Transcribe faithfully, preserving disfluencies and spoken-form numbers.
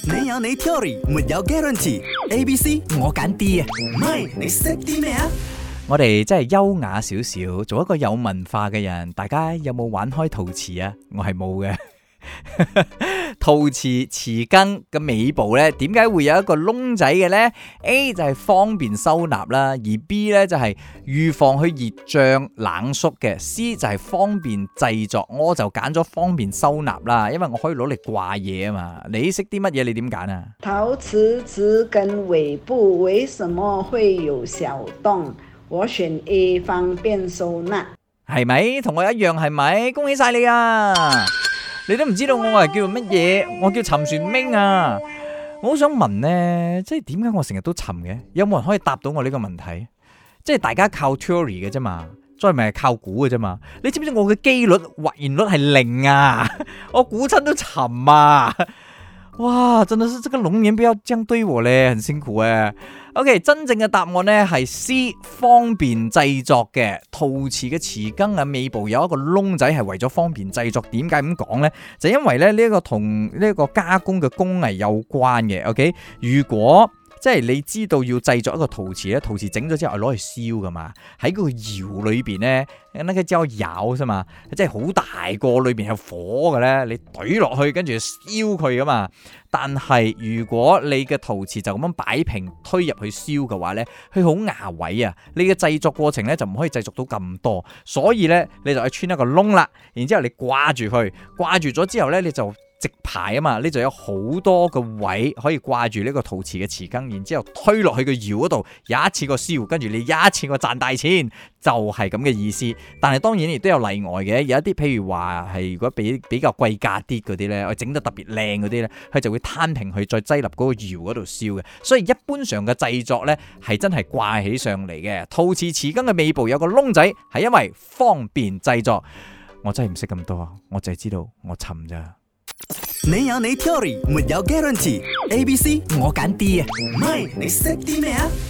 你有你 theory， 沒有 guarantee。A、B、C 我揀 D 啊，唔係你識啲咩啊？ 我哋真係優雅少少，做一個有文化嘅人。大家有冇玩開陶瓷啊？我係冇嘅。陶瓷匙羹嘅尾部呢，點解會有一個窿仔嘅呢？ A 就係方便收納啦，而 B 呢就係預防去熱脹冷縮嘅。C 就係方便製作，我就揀咗方便收納啦，因為我可以攞嚟掛嘢啊嘛。你識啲乜嘢？你點揀啊？ 陶瓷匙羹尾部為什麼會有小洞？我選 A 方便收納。 係咪？同我一樣係咪？恭喜晒你啊！你都唔知道我係叫做乜嘢？我叫沉船明啊！我好想問呢，即係點解我成日都沉嘅？有冇人可以答到我呢個問題？即係大家靠 theory 嘅啫嘛，再咪係靠估嘅啫嘛。你知唔知我嘅機率或然率係零啊？我估親都沉啊！哇，真的是這個龍年不要這樣對我咧，很辛苦誒。OK， 真正嘅答案呢係 C， 方便製作嘅陶瓷嘅匙羹嘅尾部有一個窿仔，係為咗方便製作。點解咁講呢？就因為咧呢一個同呢一個加工嘅工藝有關嘅。OK， 如果即係你知道要製作一個陶瓷咧，陶瓷整咗之後係攞去燒噶嘛，喺個窯裏邊咧，那個叫窯啫嘛，即係好大個，裏邊有火嘅咧，你懟落去跟住燒佢噶嘛。但係如果你嘅陶瓷就咁樣擺平推入去燒嘅話咧，佢好牙位啊，你嘅製作過程咧就唔可以製作到咁多，所以咧你就去穿一個窿啦，然之後你掛住佢，掛住咗之後咧你就直排啊嘛，你就有好多個位可以掛住呢個陶瓷嘅匙羹，然之後推落去個窯嗰度，有一次個燒，跟住你一次個賺大錢，就係咁嘅意思。但係當然亦都有例外嘅，有一啲譬如話係如果比比較貴價啲嗰啲咧，我整得特別靚嗰啲咧，佢就會攤平佢再擠入嗰個窯嗰度燒嘅。所以一般上嘅製作咧係真係掛起上嚟嘅。陶瓷匙羹嘅尾部有個窿仔，係因為方便製作。我真係唔識咁多，我淨係知道我沉咋。 你有你 theory， 沒有 guarantee。A、B、C 我揀 D 啊，唔係你識啲咩啊？